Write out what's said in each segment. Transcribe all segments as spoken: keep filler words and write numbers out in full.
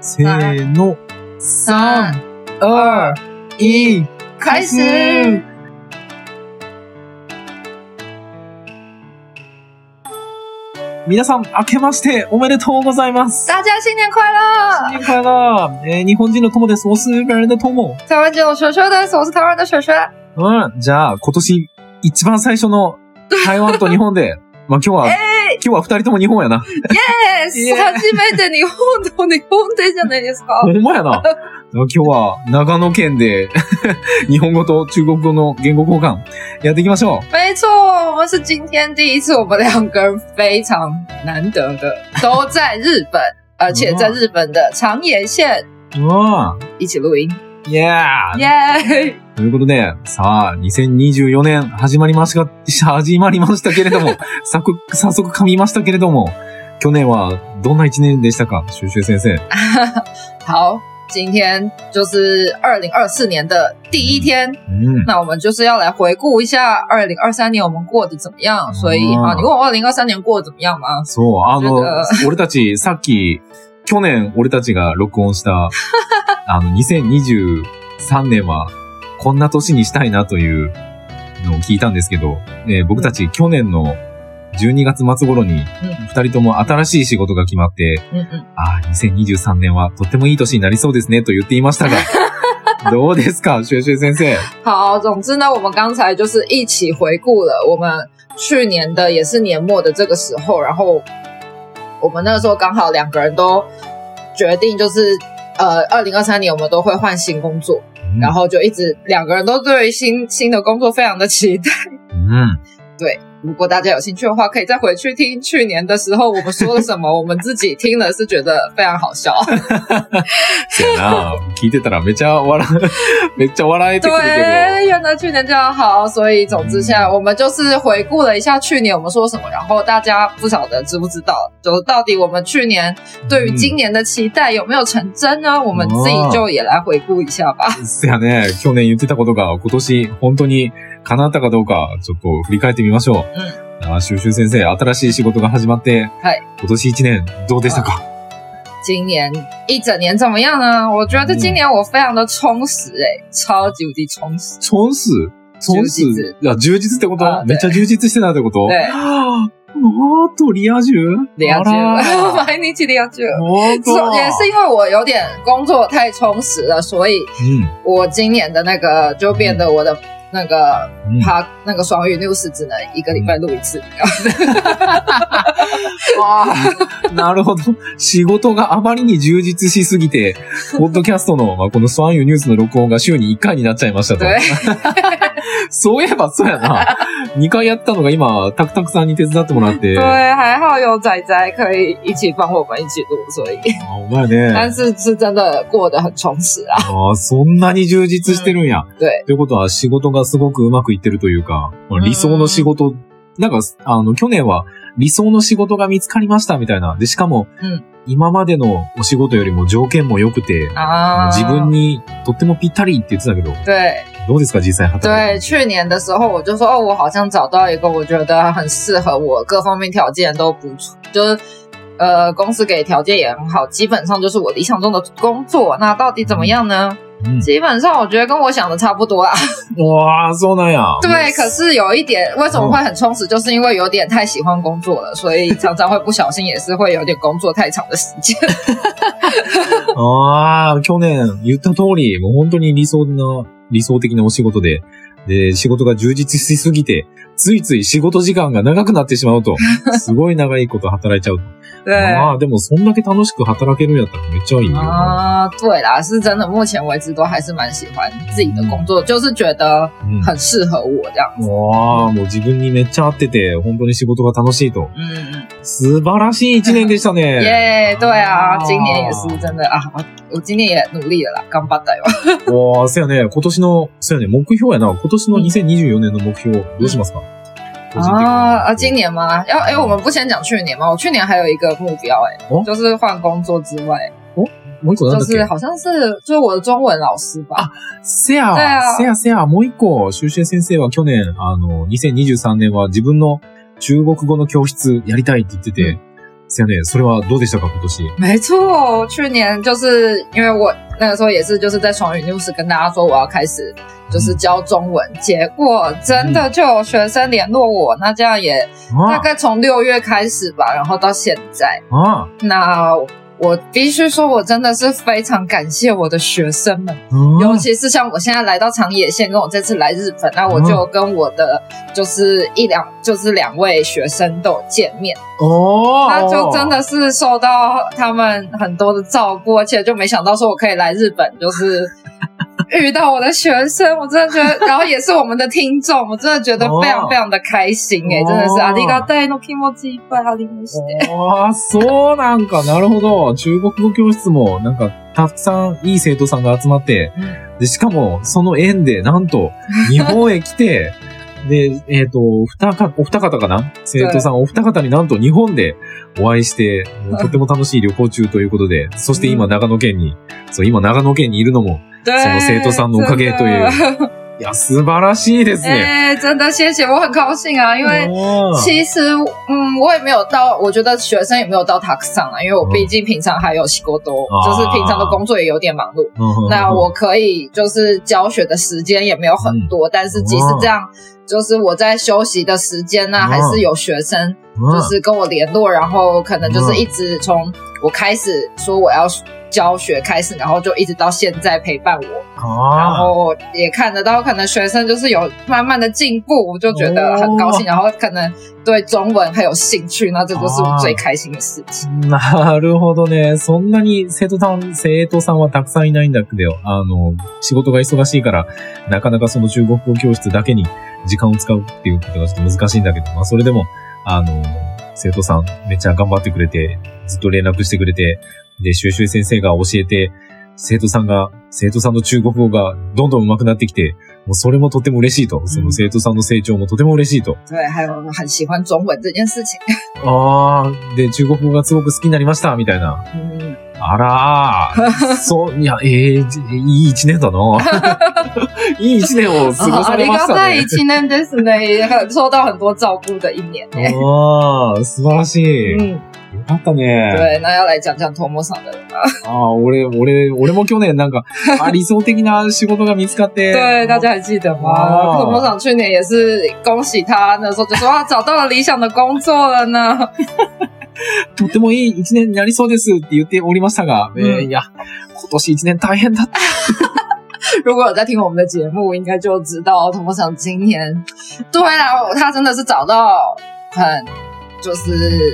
せーの。 三、二、一、開始。 皆さん、明けましておめでとうございます。 大家新年快乐！ 新年快乐！えー、日本人の友です。我是日本人的友。 台湾人の雪雪です。我是台湾的雪雪。 うん、じゃあ、今年一番最初の台湾と日本で、まあ今日は、 えー、 今日は二人とも日本やな。 イエーイ初めて日本と日本でじゃないですか。 ほんまやな。今日は長野県で日本語と中国語の言語交換やっていきましょう。 没错，我们是今天第一次，我们两个人非常难得的都在日本，而且在日本的长野县一起录音。 イエーイ！ イエーイ！ ということで、さあ、にせんにじゅうよねん始まりました、始まりましたけれども、早速、早速噛みましたけれども、去年はどんな一年でしたか、シュウシュウ先生。 好。今天就是二零二四年的第一天，嗯，那我们就是要来回顾一下二零二三年我们过得怎么样。所以啊，你问我二零二三年过得怎么样吗？ そう、あの、俺たちさっき去年俺たちが録音したあのにせんにじゅうさんねんはこんな年にしたいなというのを聞いたんですけど、ね、僕たち去年のじゅうにがつ末頃に二人とも新しい仕事が決まって、うんうん、ああ、にせんにじゅうさんねんはとってもいい年になりそうですねと言っていましたが、どうですか、雪雪先生。 好，总之呢，我们刚才就是一起回顾了我们去年的也是年末的这个时候，然后我们那个时候刚好两个人都决定就是呃二零二三年我们都会换新工作，嗯、然后就一直两个人都对于新新的工作非常的期待。嗯，对。如果大家有兴趣的话，可以再回去听去年的时候我们说了什么，我们自己听了是觉得非常好笑。 そうやな、聞いてたらめっちゃ笑めっちゃ笑えてくるけど。 对，原来去年这样好，所以总之现在我们就是回顾了一下去年我们说什么，然后大家不晓得知不知道，就到底我们去年对于今年的期待有没有成真呢？我们自己就也来回顾一下吧。 そうやね、去年言ってたことが今年本当に叶ったかどうかちょっと振り返ってみましょう。うん、あ、シュウシュウ先生、新しい仕事が始まって、はい、今年一年どうでしたか？ 今年一整年怎么样呢？我觉得今年我非常的充实诶、欸、超級无敵充实。 充实？充实？いや、充実ってこと？めっちゃ充実してたってこと？ 对。 おーっと、リア充？ リア充。毎日リア充。也是因为我有点工作太充实了，所以我今年的那个就变得我的那个他、嗯、那个双语 news 只能一个礼拜录一次。 ああ、なるほど。仕事があまりに充実しすぎて、ポッドキャストの、まあ、この双語ニュースの録音が週にいっかいになっちゃいましたと。そういえばそうやな。にかいやったのが今、タクタクさんに手伝ってもらって。 对，还好有仔仔可以一起帮我们一起录，所以。 あ、お前ね。 但是是真的过得很充实啊。 ああ、そんなに充実してるんや。 うん、对。 ということは仕事がすごくうまくいってるというか、理想の仕事、なんか、あの、去年は理想の仕事が見つかりましたみたいな。で、しかも、うん、今までのお仕事よりも条件も良くて、自分にとってもぴったりって言ってたけど。 对。 どうですか、実際働いて。对，去年的时候我就说，哦，我好像找到一个我觉得很适合我，各方面条件都不错，就是呃，公司给条件也很好，基本上就是我理想中的工作。那到底怎么样呢？嗯、基本上我觉得跟我想的差不多啦。 哇，そうなんや。 对，可是有一点，为什么会很充实，就是因为有点太喜欢工作了，所以常常会不小心也是会有点工作太长的时间。 ああ、去年言った通り、もう本当に理想な、理想的なお仕事で、で、仕事が充実しすぎて、ついつい仕事時間が長くなってしまうと。すごい長いこと働いちゃうと。ああ、でもそんだけ楽しく働けるんやったらめっちゃいいよ。 啊，对啦，是真的，目前为止都还是蛮喜欢自己的工作，嗯、就是觉得很适合我这样子。 わあ、もう自分にめっちゃ合ってて、本当に仕事が楽しいと。嗯嗯。素晴らしい一年でしたね。 耶、yeah, 对啊，今年也是真的啊，我今年也努力了啦，頑張ったよ。 わあ、そうやね、今年の、そうやね、目標やな、今年のにせんにじゅうよねんの目標、どうしますか？ 啊啊！今年吗？要哎、欸，我们不先讲去年吗？我去年还有一个目标、欸，哎、哦，就是换工作之外， 哦，もう一個なんだっけ？ 就是好像是就是我的中文老師吧。 あ、せや、 对啊、 せやせや、もう一個、シュウシュウ先生は去年、あの、にせんにじゅうさんねんは自分の中国語の教室やりたいって言ってて、うん、 是呀ね。それはどうでしたか今年？ 没错，去年就是因为我那个时候也是就是在双语 news 跟大家说我要开始就是教中文，嗯、结果真的就有学生联络我，那这样也大概从六月开始吧，然后到现在。啊，那我必须说，我真的是非常感谢我的学生们，嗯、尤其是像我现在来到长野县，跟我这次来日本，那我就跟我的就是一两就是两位学生都有见面哦，那就真的是受到他们很多的照顾，而且就没想到说我可以来日本，就是遇到我的学生，我真的觉得，然后也是我们的听众，我真的觉得非常非常的开心诶、欸，真的是ありがたいの気持ちいっぱいありまして。 ああ、そうなんか、なるほど。中国語教室もなんかたくさんいい生徒さんが集まって、うん、でしかもその縁でなんと日本へ来て。で、えっと、二か、お二方かな生徒さんお二方になんと日本でお会いして、とても楽しい旅行中ということで、そして今長野県に、そう、今長野県にいるのも、その生徒さんのおかげという。いや、素晴らしいですね。 哎，真的谢谢，我很高兴啊，因为其实，嗯，我也没有到，我觉得学生也没有到たくさん啊，因为我毕竟平常还有仕事，就是平常的工作也有点忙碌。那我可以就是教学的时间也没有很多，但是即使这样。就是我在休息的时间呢、啊，还是有学生就是跟我联络，然后可能就是一直从我开始说我要教学开始，然后就一直到现在陪伴我，然后也看得到可能学生就是有慢慢的进步，我就觉得很高兴，然后可能对中文很有興趣，那这就是我最開心的事情。 なるほどね。そんなに生徒さん、生徒さんはたくさんいないんだけど、あの、仕事が忙しいから、なかなかその中国語教室だけに時間を使うっていうことがちょっと難しいんだけど、まあそれでも、あの、生徒さんめっちゃ頑張ってくれて、ずっと連絡してくれて、で、シュウシュウ先生が教えて、生徒さんが、生徒さんの中国語がどんどん上手くなってきて、もうそれもとても嬉しいと。その生徒さんの成長もとても嬉しいと。 对、还有很喜欢中文这件事情。 ああ、で、中国語がすごく好きになりました、みたいな。うん、あらー、そう、いや、ええー、いい一年だな。いい一年を過ごされましたね。ありがたい一年ですね。受到很多照顧的一年ね。 ああ、素晴らしい。うんよかったね。 对、那要来讲讲トモさん的了。 ああ、俺、俺、俺も去年なんか、あ、理想的な仕事が見つかって。 对、大家还记得吗？トモさん去年也是恭喜他，那时候就说他找到了理想的工作了呢。 とってもいい一年になりそうですって言っておりましたが、うん、えー、いや、今年一年大変だった。 如果有在听我们的节目，应该就知道トモさん今年，对啦，他真的是找到很，就是。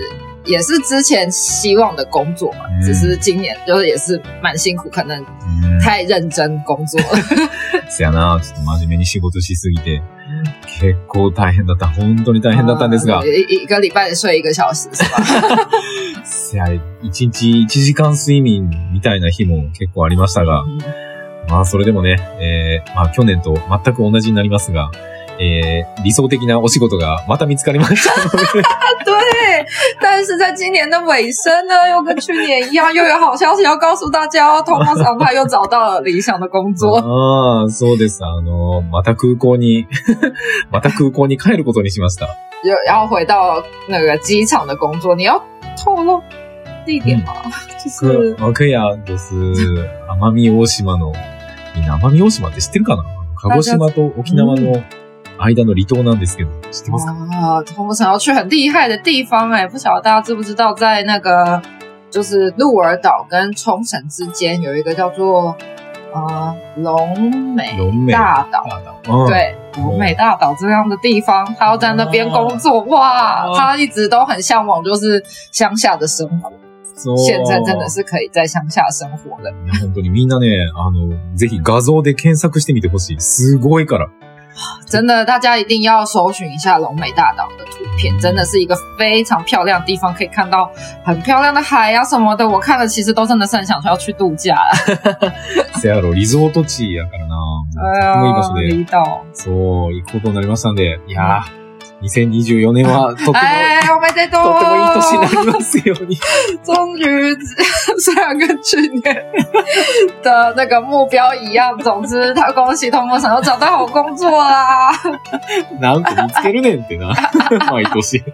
也是之前希望的工作嘛、嗯、只是今年就是也是蛮辛苦，可能太认真工作了。 せやな、ちょっと真面目に仕事しすぎて、結構大変だった。本当に大変だったんですが。 一个礼拜で睡一个小时是吧？ せや、一日一時間睡眠みたいな日も結構ありましたが、うん、まあそれでもね、えー、まあ去年と全く同じになりますが、えー、理想的なお仕事がまた見つかりましたので。 对，但是在今年的尾声呢，又跟去年一样，又有好消息要告诉大家哦。トモさん他又找到了理想的工作。 ああ、そうです。あの、また空港に、また空港に帰ることにしました。 又要回到那个机场的工作，你要透露地点吗？嗯、就是。 可以啊，就是奄美大島の、みんな奄美大島って知ってるかな？鹿児島と沖縄の、間の離島なんですけど、知ってますか？ 啊，トモさん要去很厉害的地方哎，不晓得大家知不知道，在那个就是鹿儿岛跟冲绳之间有一个叫做呃龙美大岛，哦、对，龙美大岛这样的地方，他要在那边工作，哦、哇，哦、他一直都很向往就是乡下的生活。现在真的是可以在乡下生活了。 いや本当にみんなね、あのぜひ画像で検索してみてほしい。すごいから。 真的，大家一定要搜寻一下龙美大岛的图片，真的是一个非常漂亮的地方，可以看到很漂亮的海啊什么的。我看了，其实都真的是很想说要去度假了。 せやろ、リゾート地やからな。とてもいい場所で。 離島。 そう、行くことになりましたんで、いやー。にせんにじゅうよねんはとても、 哎，我们在とてもいい年になりますように。 终于，虽然跟去年的那个目标一样，总之他恭喜トモさん又找到好工作啦。 なんか見つけるねんってな、毎年。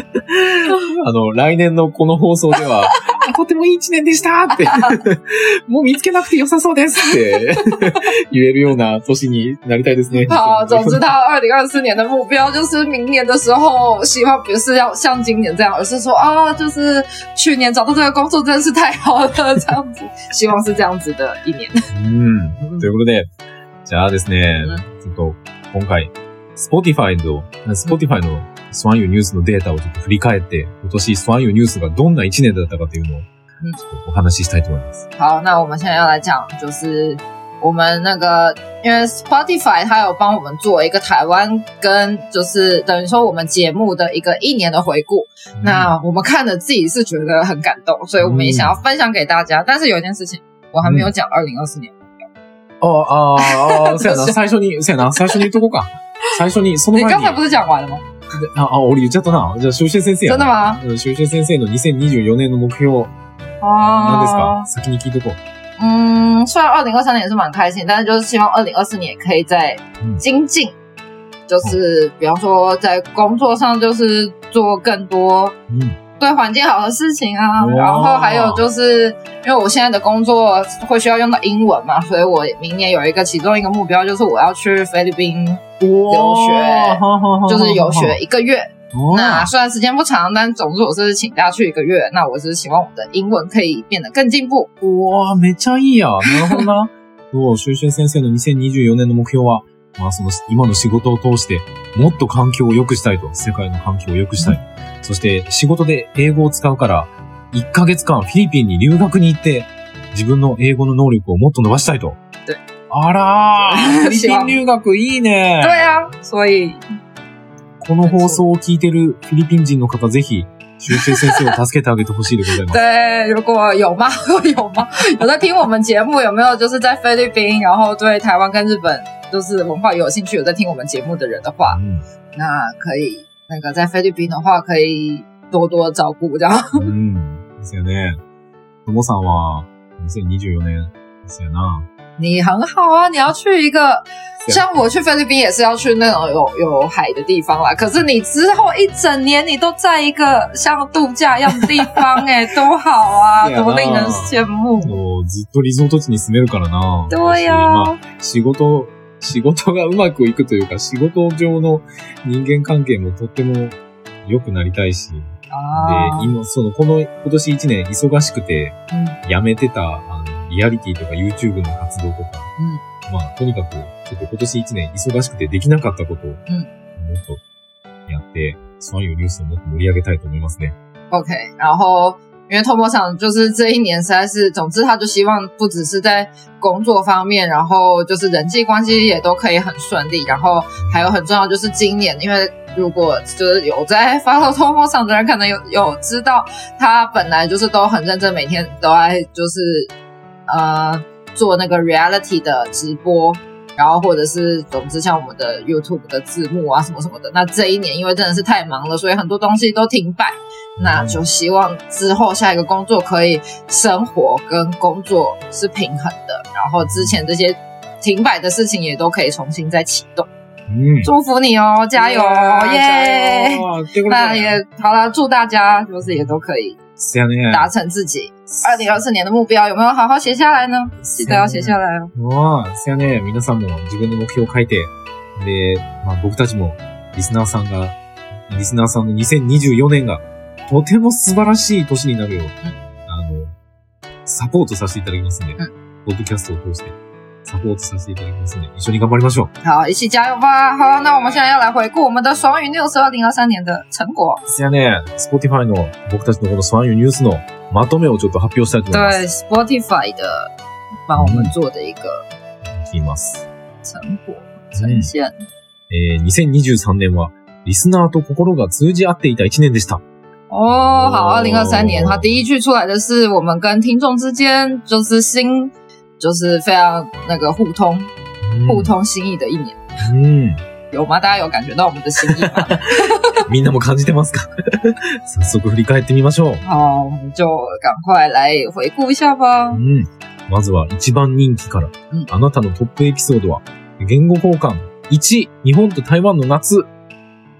あの、来年のこの放送では、とてもいい一年でしたって、もう見つけなくて良さそうですって言えるような年になりたいですね。 好，总之他二零二四年的目标就是明年的时候，希望不是要像今年这样，而是说啊，就是去年找到这个工作真的是太好了，这样子，希望是这样子的一年。 うん。ということで、じゃあですね、ちょっと今回、Spotify の、Spotify のスワンユーニュースのデータをちょっと振り返って、今年スワンユーニュースがどんな一年だったかというのを、ちょっとお話ししたいと思います。 好，那我们现在要来讲，就是我们那个，因为 Spotify 它有帮我们做一个台湾跟就是等于说我们节目的一个一年的回顾。嗯、那我们看了自己是觉得很感动，所以我们也想要分享给大家。嗯、但是有一件事情我还没有讲二零二四年。 哦啊啊！そうやな、最初に、そうやな、最初に言っとこうか。最初に、その前に。 你刚才不是讲完了吗？ あ、あ、俺言っちゃったな。じゃあ、修修先生や。 真的吗？ 修修先生のにせんにじゅうよねんの目標。何ですか？先に聞いとこう。 嗯，虽然二零二三年也是蛮开心，但是就是希望二零二四年也可以再精进，嗯、就是比方说在工作上就是做更多对环境好的事情啊，嗯、然后还有就是因为我现在的工作会需要用到英文嘛，所以我明年有一个其中一个目标就是我要去菲律宾留学，就是游学一个月。那虽然时间不长，但总之我是请假去一个月。那我是希望我的英文可以变得更進步。 哇、めっちゃいいや。なるほどな。そう、修修先生のにせんにじゅうよねんの目標は、まあその今の仕事を通してもっと環境を良くしたいと、世界の環境を良くしたい。うん、そして仕事で英語を使うからいっかげつかんフィリピンに留学に行って自分の英語の能力をもっと伸ばしたいと。 对。 あらー、フィリピン留学いいね。 对啊，所以。 この放送を聞いてるフィリピン人の方、ぜひ、修修先生を助けてあげてほしいでございます。 对，如果有吗？有吗？有在听我们节目，有没有就是在菲律宾，然后对台湾跟日本就是文化有興趣，有在听我们节目的人的话，嗯、那可以那个在菲律宾的话，可以多多照顾这样。 嗯，ですよね。ともさんはにせんにじゅうよねんですよな。 你很好啊，你要去一个像我去菲律宾也是要去那种有有海的地方啦。可是你之后一整年你都在一个像度假一样的地方哎、欸，多好啊，多令人羡慕。 そう、ずっとリゾート地に住めるからな。 对呀、 まあ、仕事仕事がうまくいくというか、仕事上の人間関係もとっても良くなりたいし。で、今そのこの今年一年忙しくてやめてた、あのリアリティとか YouTube の活動とか、うん、まあ、とにかく、ちょっと今年一年忙しくてできなかったことを、もっとやって、所有ニュースをもっと盛り上げたいと思いますね。 OK， 然后，因为透模厂就是这一年实在是，总之他就希望不只是在工作方面，然后就是人际关系也都可以很顺利，然后还有很重要就是今年，因为如果就是有在 follow 透模厂的人，可能有有知道，他本来就是都很认真，每天都在就是。呃，做那个 reality 的直播，然后或者是总之像我们的 YouTube 的字幕啊什么什么的。那这一年因为真的是太忙了，所以很多东西都停摆。那就希望之后下一个工作可以生活跟工作是平衡的，然后之前这些停摆的事情也都可以重新再启动。嗯，祝福你哦，加油哦，耶！那也好了，祝大家就是也都可以。达成自己二零二四年的目標有没有好好写下来呢？記得要寫下来哦。 わあ、せやね。皆さんも自分の目標を書いて、で、まあ僕たちもリスナーさんが、リスナーさんのにせんにじゅうよねんがとても素晴らしい年になるよう、うん、あの、サポートさせていただきますんで、うん、ポッドキャストを通してサポートさせていただきますんで、一緒に頑張りましょう。 好，一起加油吧。好，那我们现在要来回顾我们的爽语 News 二零二三年的成果。 ですよね。Spotify の僕たちのこの爽语 News のまとめをちょっと発表したいと思います。 对 ，Spotify 的帮我们做的一个言います成果呈現。 えー、にせんにじゅうさんねんはリスナーと心が通じ合っていた一年でした。 哦，好，二零二三年它第一句出来的是我们跟听众之间就是心。就是非常那个互通、嗯、互通心意的一年。嗯，有吗？大家有感觉到我们的心意吗？ みんなも感じてますか？早速振り返ってみましょう。 好，我们就赶快来回顾一下吧。 うん。まずは一番人気から。うん、あなたのトップエピソードは言語交換いち、日本と台湾の夏。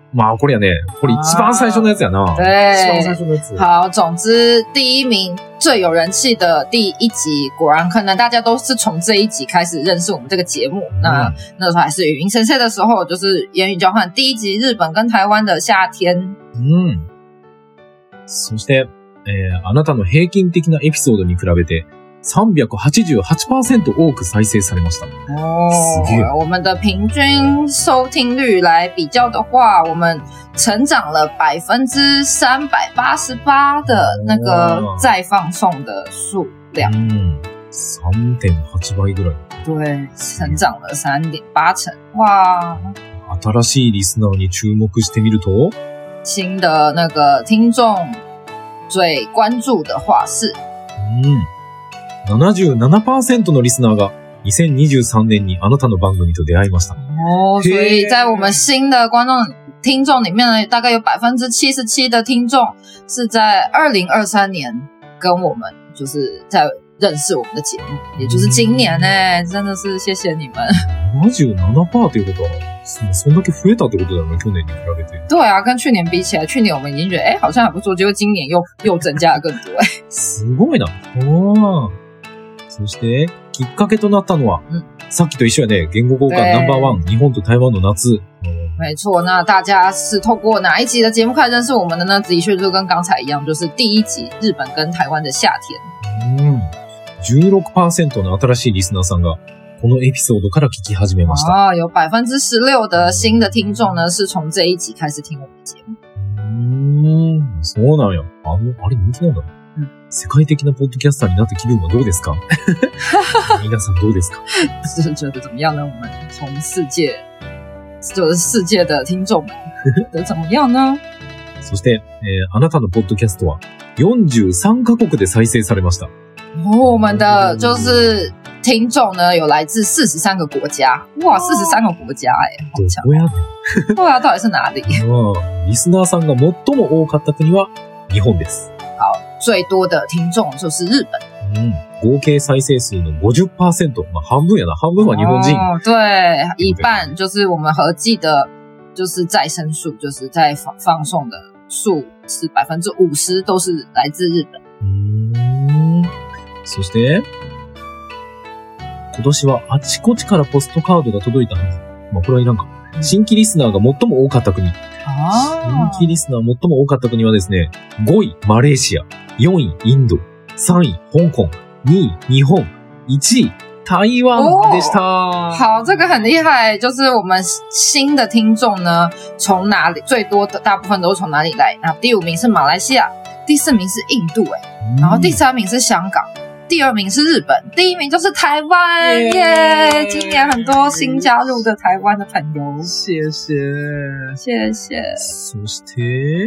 まあこれやね、これ一番最初のやつやな。 对， 一番最初のやつ。 好，总之第一名最有人气的第一集，果然可能大家都是从这一集开始认识我们这个节目。嗯、那那时候还是语音先生的时候，就是言语交换第一集日本跟台湾的夏天。 うん。そして、えー、あなたの平均的なエピソードに比べて さんびゃくはちじゅうはちパーセント 多く再生されました。 哦， すげえ。 我们的平均收听率来比较的话，我们成长了百分之三百八十八的那个再放送的数量。 嗯，三点八倍ぐらい。 对，成长了三点八成。哇！ 新しいリスナーに注目してみると， 新的那个听众最关注的话是， 嗯。ななじゅうななパーセント のリスナーがにせんにじゅうさんねんにあなたの番組と出会いました。 哦，所以在我们新的观众听众里面呢，大概有百分之七十七的听众是在二零二三年跟我们就是在认识我们的节目，也就是今年呢、欸，真的是谢谢你们。 ななじゅうななパーセント っていうことは、そんだけ増えたってことだよね、去年に比べて。 对啊，跟去年比起来，去年我们已经觉得哎、欸、好像还不错，结果今年又又增加了更多哎、欸。 すごいな。おー。そして、きっかけとなったのは、うん、さっきと一緒やね、言語交換ナンバーワン、日本と台湾の夏。 没错，那大家是透过哪一集的节目开始认识我们的呢？的确就跟刚才一样，就是第一集日本跟台湾的夏天。 うん。じゅうろくパーセント の新しいリスナーさんが、このエピソードから聞き始めました。 啊，有百分之十六的新的听众呢，是从这一集开始听我们的节目。 うーん、そうなんや。あの、あれ人気なんだ。世界的なポッドキャスターになった気分はどうですか？皆さんどうですか？ 是觉得怎么样呢？我们从世界，就是世界的听众们觉得怎么样呢？ そして、えー、あなたのポッドキャストはよんじゅうさんカ国で再生されました。 哦，我们的就是听众呢，有来自四十三个国家，哇，四十三个国家哎、欸，好强！ どこやねん。 对啊，到底是哪里？ リスナーさんが最も多かった国は日本です。 好，最多的听众就是日本。 嗯，合計再生数の ごじゅっパーセント、まあ半分やな、半分は日本人。 哦，对，一半就是我们合计的，就是再生数，就是在放放送的数是百分之五十都是来自日本。 嗯，そして今年はあちこちからポストカードが届いたはず。まあこれはいらんか。新規リスナーが最も多かった国。新規リスナー最も多かった国はですね、ごいマレーシア、よんいインド、さんい香港、にい日本、いちい台湾でした。 哦、好，这个很厉害，就是我们新的听众呢，从哪里最多的大部分都是从哪里来？那第五名是马来西亚，第四名是印度、欸，哎、嗯，然后第三名是香港。第二名是日本，第一名就是台湾耶！今年很多新加入的台湾的朋友， 谢谢， 谢谢。 そして、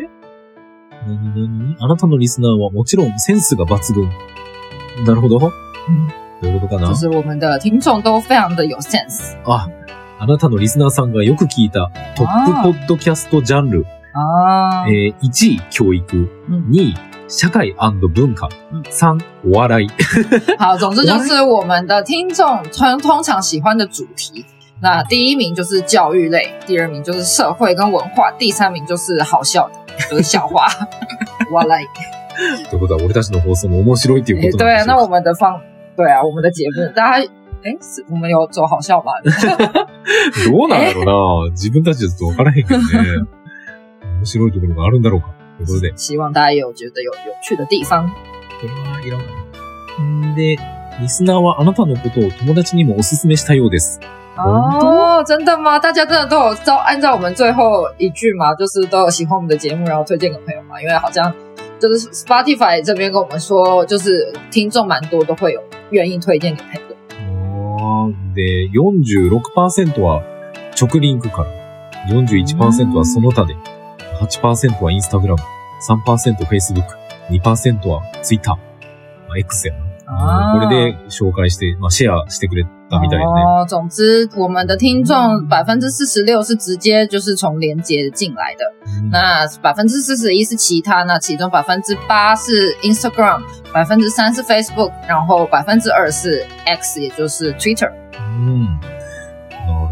何々？あなたのリスナーはもちろんセンスが抜群。なるほど。嗯，どういうことかな？ 就是我们的听众都非常的有 sense。 あ、あなたのリスナーさんがよく聞いたトップポッドキャストジャンル。 あえー、いちい教育、にい社会&文化、三お笑い。 好，总之就是我们的听众通通常喜欢的主题。那第一名就是教育类，第二名就是社会跟文化，第三名就是好笑的，就是笑话。笑い。 ということは俺たちの放送も面白いっていうことなんでしょうか？ 对啊，那我们的放，对啊，我们的节目，大家。诶，是我们有走好笑吗？ どうなんだろうな。自分たちだと分からへんけどね。面白いところがあるんだろうか。ということで。 希望大家也有觉得有有趣的地方。 これはいらない。んで、リスナーはあなたのことを友達にもおすすめしたようです。 哦，真的吗？大家真的都有照按照我们最后一句嘛，就是都有喜欢我们的节目，然后推荐给朋友嘛。因为好像就是 Spotify 这边跟我们说，就是听众蛮多都会有愿意推荐给朋友。 で、よんじゅうろくパーセント は直リンクから、よんじゅういちパーセント はその他で、はちパーセント はインスタグラム、さんパーセント Facebook、にパーセント は Twitter、まあ、X やな。これで紹介して、まあ、シェアしてくれたみたいね。 哦，总之我们的听众百分之四十六是直接就是从连结进来的，嗯、那百分之四十一是其他，那其中百分之八是 Instagram， 百分之三是 Facebook， 然后百分之二是 X， 也就是 Twitter。 嗯，なるほどね。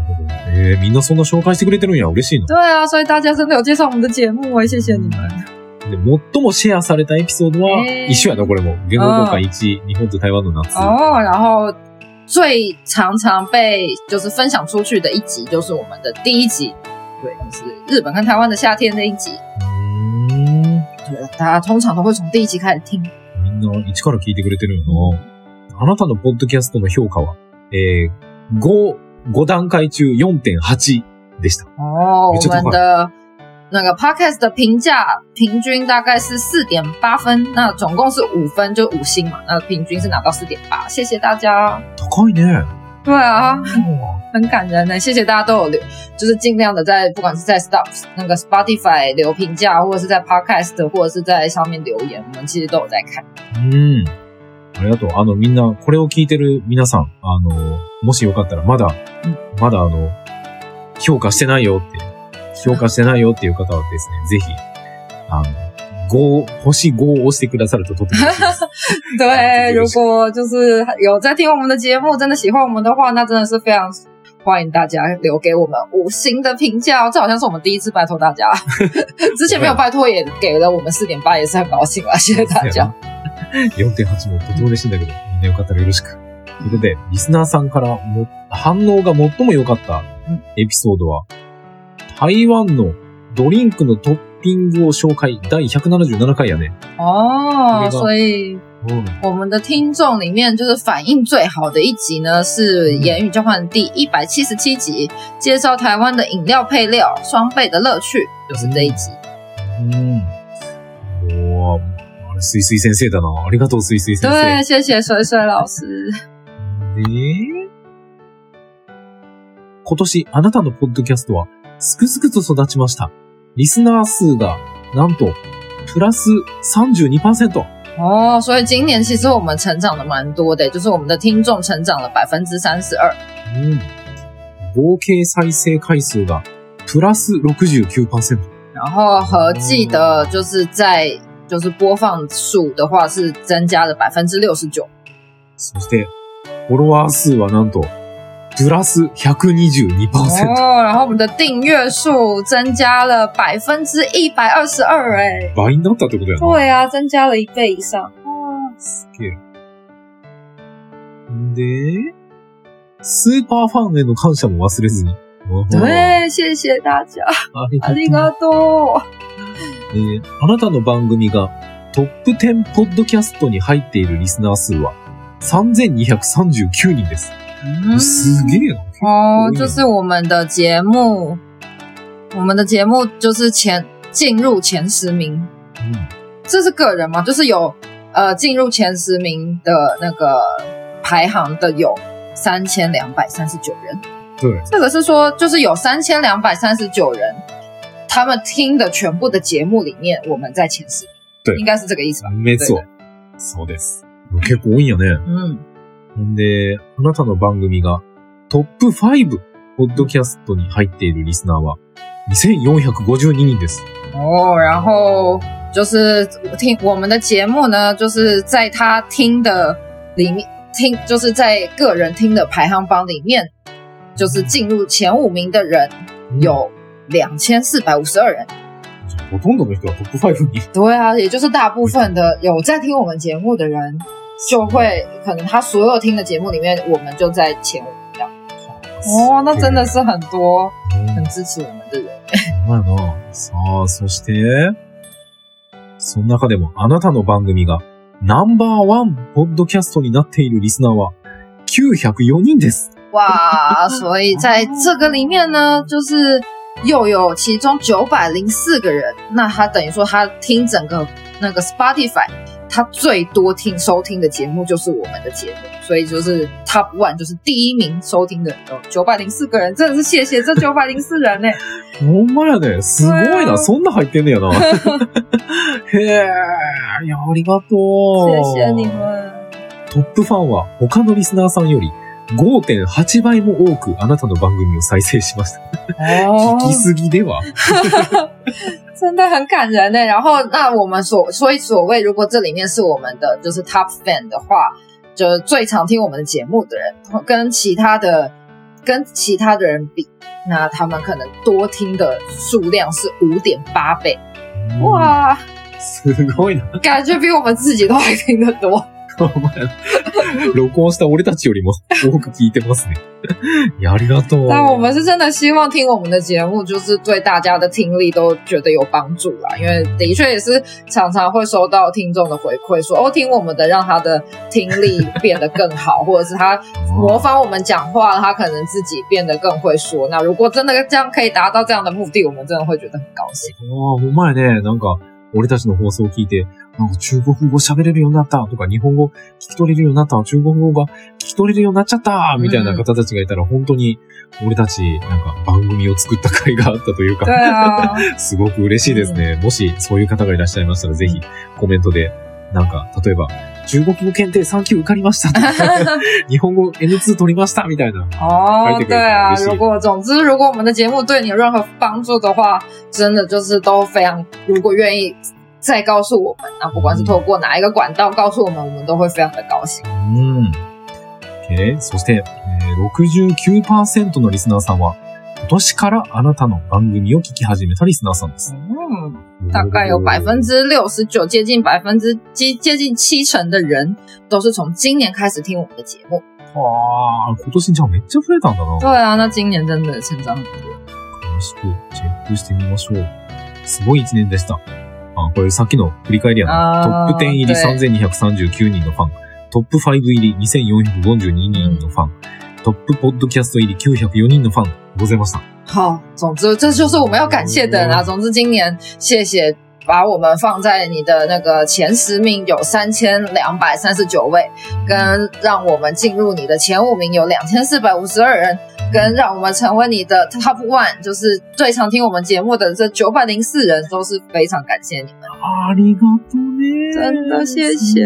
えー、みんなそんな紹介してくれてるんや。嬉しいの。 对啊，所以大家真的有介绍我们的节目哎，谢谢你们。 で、最もシェアされたエピソードは、 えー一緒やな、これも。言語交換いち、日本と台湾の夏。 哦，然后最常常被就是分享出去的一集，就是我们的第一集，对，就是日本跟台湾的夏天那一集。 うーん。 对，大家通常都会从第一集开始听。 みんな一から聞いてくれてるよな。あなたのポッドキャストの評価は、えー、ご、ご段階中 よんてんはち でした。 哦，我们的那个 podcast 的评价平均大概是 四点八 分，那总共是五分，就五星嘛，那平均是拿到 四点八， 谢谢大家。 高いね。 对啊，很感人呢，谢谢大家都有留，就是尽量的在不管是在 Stop 那个 Spotify 留评价，或者是在 Podcast 或者是在上面留言，我们其实都有在看。 うん。ありがとう。あの、みんな、これを聞いてる皆さん、あの、もしよかったら、まだ、 うん、 まだあの、評価してないよって、評価してないよっていう方はですね、ぜひ、あの、五、星ごを押してくださるととても嬉しいです。 对，如果就是有在听我们的节目，真的喜欢我们的话，那真的是非常欢迎大家留给我们五星的评价哦。这好像是我们第一次拜托大家，之前没有拜托也给了我们 四点八， 也是很高兴啦，谢謝大家。 よんてんはち もとても嬉しいんだけど、みんなよかったらよろしく。ということで、リスナーさんからも反応が最も良かったエピソードは、台湾のドリンクのトッピングを紹介第ひゃくななじゅうななかいやね。 哦，所以我们的听众里面就是反应最好的一集呢，是言语交换第一百七十七集，介绍台湾的饮料配料双倍的乐趣，就是这一集。 嗯，哇。水水先生だな。ありがとう、水水先生。 对，谢谢水水老师。 で、今年あなたのポッドキャストはすくすくと育ちました。リスナー数がなんとプラス さんじゅうにパーセント。 哦，所以今年其实我们成长的蛮多的，就是我们的听众成长了 百分之三十二。 うん。合計再生回数がプラス ろくじゅうきゅうパーセント。 然后合计的就是在就是播放数的话是增加了 百分之六十九。 そして、フォロワー数はなんと、プラス ひゃくにじゅうにパーセント。 哦，然后我们的订阅数增加了 百分之一百二十二哎。 倍になったってことやな。 对啊，增加了一倍以上。 哇，すげえ。で、スーパーファンへの感謝も忘れずに。 对，谢谢大家。ありがとう。 えー、あなたの番組がトップじゅうポッドキャストに入っているリスナー数はさんぜんにひゃくさんじゅうきゅうにんです。嗯、すげえな。 哦，就是我们的节目，我们的节目就是前进入前十名。嗯，这是个人吗？就是有呃进入前十名的那个排行的有三千两百三十九人。 对， 这个是说就是有三千两百三十九人。他们听的全部的节目里面，我们在前十， 对， 应该是这个意思吧？ 没错，そうです。結構多いんやね。 うん。 んで、あなたの番組がトップごポッドキャストに入っているリスナーはにせんよんひゃくごじゅうににんです。 哦，然后就是听我们的节目呢，就是在他听的里面听，就是在个人听的排行榜里面，就是进入前五名的人有两千四百五十二人。 ほとんどの人はトップごに。 对啊，也就是大部分的有在听我们节目的人，就会可能他所有听的节目里面，我们就在前五名这样。哦，那真的是很多很支持我们的人。 まあな。さあ、そして、その中でもあなたの番組がナンバーワンポッドキャストになっているリスナーはきゅうひゃくよにんです。 哇，所以在这个里面呢，就是又有其中九百零四个人，那他等于说他听整个那个 Spotify， 他最多听收听的节目就是我们的节目，所以就是 Top One 就是第一名收听的有九百零四个人，真的是谢谢这九百零四人呢。 ほんまやね。すごいな。そんな入ってんねやな。へえ、いや、ありがとう。 谢谢你们。 トップファンは他のリスナーさんより ごてんはちばいも多くあなたの番組を再生しました。聞きすぎでは？ 真的很感人呢。然后，那我们所所以所谓，如果这里面是我们的就是 top fan 的话，就是最常听我们的节目的人，跟其他的跟其他的人比， 那他们可能多听的数量是 五点八倍。哇， すごいな。 感觉比我们自己都还听得多。 録音した俺たちよりも多く聞いてますね。いや、ありがとう。 但我们是真的希望听我们的节目，就是对大家的听力都觉得有帮助啦。因为的确也是常常会收到听众的回馈说，哦，听我们的让他的听力变得更好，或者是他模仿我们讲话，他可能自己变得更会说。那如果真的这样可以达到这样的目的，我们真的会觉得很高兴。 ああ、ほんまやね。なんか、俺たちの放送を聞いて、なんか中国語喋れるようになったとか、日本語聞き取れるようになった、中国語が聞き取れるようになっちゃったみたいな方たちがいたら、本当に俺たちなんか番組を作った甲斐があったというか、すごく嬉しいですね。もしそういう方がいらっしゃいましたら、ぜひコメントで、なんか、例えば、中国語検定さん級受かりましたとか、日本語 エヌツー 取りましたみたいな。 哦，对啊，如果总之，如果我们的节目对你有任何帮助的话，真的就是都非常，如果愿意再告诉我们，那不管是透过哪一个管道告诉我们，我们都会非常的高興。 うん。OK。そして、えー、ろくじゅうきゅうパーセント のリスナーさんは、今年からあなたの番組を聞き始めたリスナーさんです。 嗯，大概有百分之六十九，接近百分之接接近七成的人都是从今年开始听我们的节目。 わー、今年じゃあめっちゃ増えたんだな。 对啊，那今年真的成長很多。 詳しくチェックしてみましょう。すごい一年でした。あ、これさっきの振り返りやな。トップじゅう入りさんぜんにひゃくさんじゅうきゅうにんのファン。トップご入りにせんよんひゃくごじゅうににんのファン。トップポッドキャスト入りきゅうひゃくよにんのファンございました。 好，总之这就是我们要感谢的人啊。总之今年谢谢把我们放在你的那个前十名有三千两百三十九位，跟让我们进入你的前五名有两千四百五十二人，跟让我们成为你的 top one， 就是最常听我们节目的这九百零四人，都是非常感谢你们。 ありがとうね。 真的谢谢。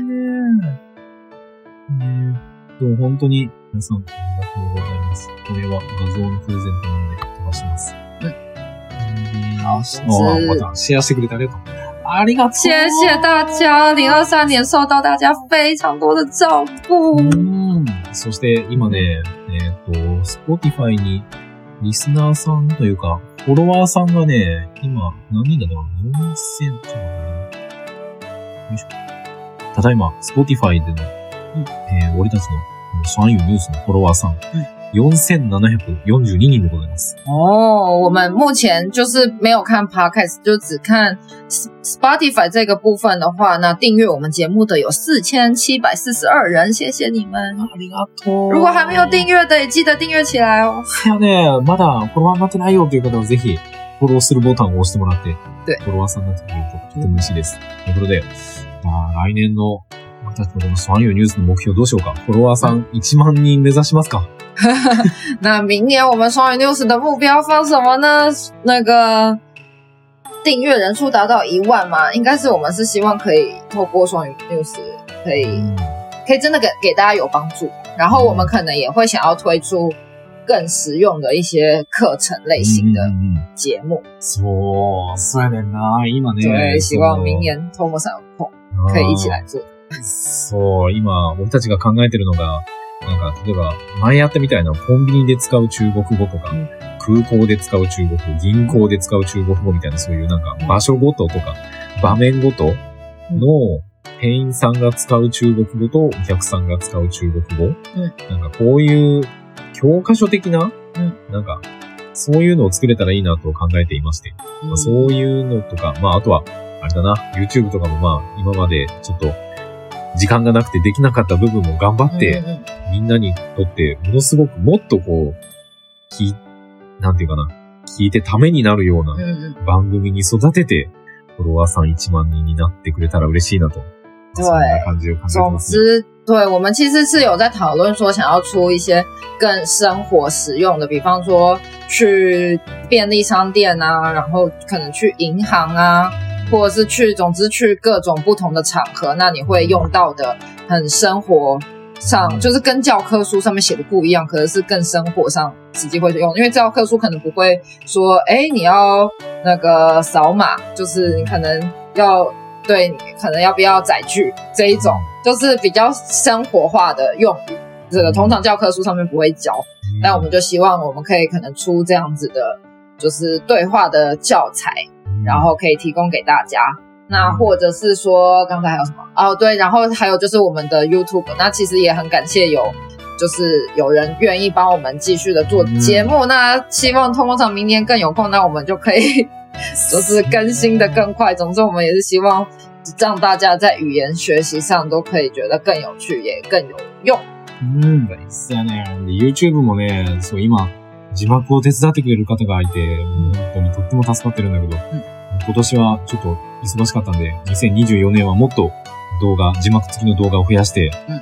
えっと本当に皆さんありがとうございます。これは画像のプレゼントなので飛ばします。 うん。好， 哦，またシェアしてくれてありがとう。ありがとう。 谢谢大家，二零二三年受到大家非常多的照顾。 うん。そして今ね、えっと、Spotify にリスナーさんというか、フォロワーさんがね、今何人だろう ?よんせん とかね。よいしょ。ただいま、Spotify での、えー、俺たちの双语ニュースのフォロワーさん、よんせんななひゃくよんじゅうににんでございます。 哦，我们目前就是没有看 podcast， 就只看 Spotify 这个部分的话，那订阅我们节目的有四千七百四十二人，谢谢你们。 ありがとう。 如果还没有订阅的，也记得订阅起来哦。 いやね、まだフォロワーになってないよという方はぜひフォローするボタンを押してもらって、フォロワーさんになってくれるととても嬉しいです。ということで、まあ、来年の私たちのこの双语ニュースの目標どうしようか。フォロワーさんいちまんにん目指しますか。 那明年我们双语 news 的目标放什么呢？那个订阅人数达到一万嘛，应该是我们是希望可以透过双语 news 可以、嗯、可以真的给给大家有帮助，然后我们可能也会想要推出更实用的一些课程类型的节目。 そう、そうやねんな。今ね。 对，希望明年 Tomo さん有空可以一起来做。 そう、今俺たちが考えてるのが。なんか、例えば、前やったみたいなコンビニで使う中国語とか、うん、空港で使う中国語、銀行で使う中国語みたいな、そういうなんか、場所ごととか、場面ごとの店員さんが使う中国語とお客さんが使う中国語、うん、なんかこういう教科書的な、うん、なんか、そういうのを作れたらいいなと考えていまして、うんまあ、そういうのとか、まああとは、あれだな、YouTube とかもまあ、今までちょっと、時間がなくてできなかった部分も頑張って、うんうん、みんなにとってものすごくもっとこう、き、なんていうかな、聞いてためになるような番組に育てて、フォロワーさんいちまんにんになってくれたら嬉しいなと。 对， そんな感じを考えてます、ね。 总之，对我们其实是有在讨论说，想要出一些更生活实用的，比方说去便利商店啊，然后可能去银行啊。或者是去，总之去各种不同的场合，那你会用到的很生活上，就是跟教科书上面写的不一样，可能是更生活上实际会用。因为教科书可能不会说，哎，你要那个扫码，就是你可能要对，你可能要不要载具这一种，就是比较生活化的用语。这个通常教科书上面不会教。 但我们就希望我们可以可能出这样子的，就是对话的教材，然后可以提供给大家。那或者是说，刚才还有什么？哦，对，然后还有就是我们的 YouTube， 那其实也很感谢有，就是有人愿意帮我们继续的做节目。嗯、那希望通工厂明年更有空，那我们就可以就是更新的更快。总之，我们也是希望让大家在语言学习上都可以觉得更有趣，也更有用。 うんですよね。YouTube もね、そう今字幕を手伝ってくれる方がいて、本当にとっても助かってるんだけど、うん、今年はちょっと忙しかったんで、にせんにじゅうよねんはもっと動画、字幕付きの動画を増やして、うん、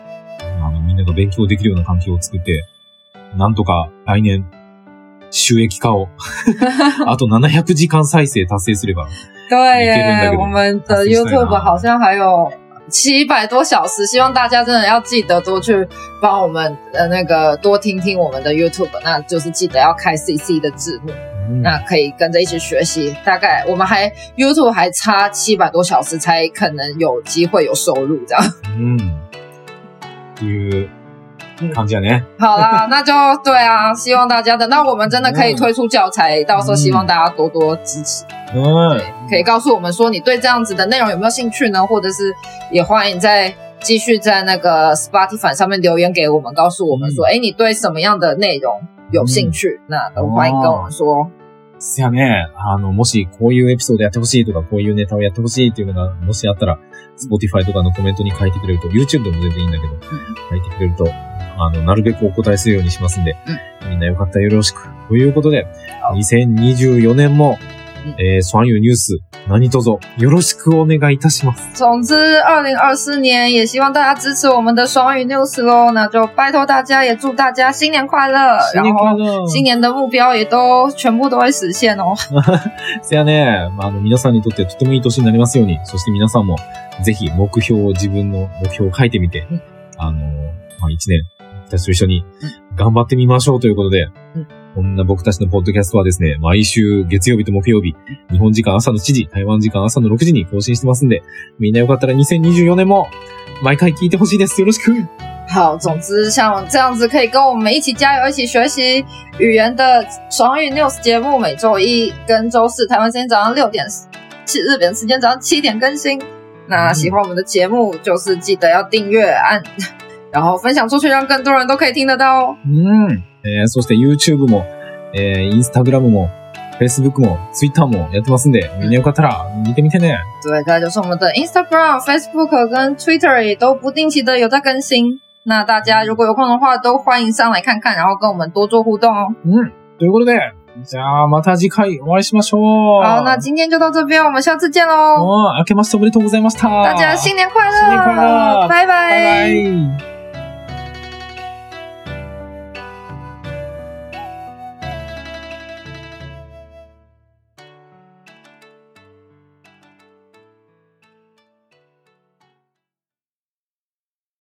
あのみんなが勉強できるような環境を作って、なんとか来年収益化をあとななひゃくじかん再生達成すればいけるんだけど。 对耶，我们的 YouTube 好像还有七百多小时，希望大家真的要记得多去帮我们的那个多听听我们的 YouTube， 那就是记得要开 C C 的字幕。那可以跟着一起学习，大概我们还 YouTube 还差七百多小时才可能有机会有收入这样。 嗯，っていう感じやね。 好啦，那就对啊，希望大家的，那我们真的可以推出教材，到时候希望大家多多支持。嗯，可以告诉我们说你对这样子的内容有没有兴趣呢？或者是也欢迎再继续在那个 Spotify 上面留言给我们，告诉我们说，哎、嗯，你对什么样的内容有兴趣？嗯、那都欢迎跟我们说。 せやね、あの、もしこういうエピソードやってほしいとか、こういうネタをやってほしいっていうのが、もしあったら、Spotify とかのコメントに書いてくれると、YouTube でも全然いいんだけど、うん、書いてくれると、あの、なるべくお答えするようにしますんで、うん、みんなよかったらよろしく。ということで、にせんにじゅうよねんも、えー、双语ニュース、何卒よろしくお願いいたします。 总之二零二四年也希望大家支持我们的双语 news 咯，那就拜托大家，也祝大家新年快乐， 新年快乐， 新年的目標也都全部都会实现哦。 せやね、まあ、あの皆さんにとってとてもいい年になりますように、そして皆さんもぜひ目標を自分の目標を書いてみて、うん、あのまあ、一年私と一緒に頑張ってみましょうということで。うん、こんな僕たちのポッドキャストはですね、毎週月曜日と木曜日、日本時間朝のしちじ、台湾時間朝のろくじに更新してますんで、みんなよかったらにせんにじゅうよねんも毎回聞いてほしいです。よろしく。 好，总之像这样子可以跟我们一起加油，一起学习语言的双语 news 节目，每周一跟周四台湾时间早上六点，日本时间早上七点更新。那喜欢我们的节目，就是记得要订阅按。然后分享出去，让更多人都可以听得到哦。 嗯、えー、そして YouTube も、えー、Instagram も Facebook も Twitter もやってますんで、みんなよかったら見てみてね。 对，再就是我们的 Instagram、Facebook 跟 Twitter 也都不定期的有在更新。那大家如果有空的话，都欢迎上来看看，然后跟我们多做互动哦。 嗯，ということで、じゃあまた次回お会いしましょう。 好，那今天就到这边，我们下次见喽。 哦，明けましておめでとうございました。 大家新年快乐！ 新年快乐！ 拜拜！ 拜拜！